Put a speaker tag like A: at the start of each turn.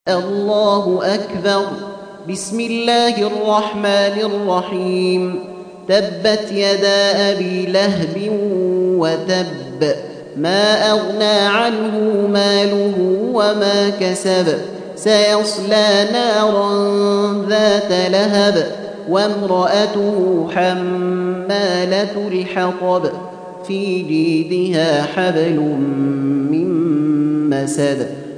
A: الله أكبر. بسم الله الرحمن الرحيم. تبت يدا أبي لهب وتب، ما أغنى عنه ماله وما كسب، سيصلى نارا ذات لهب، وامرأته حمالة الحطب، في جيدها حبل من مسد.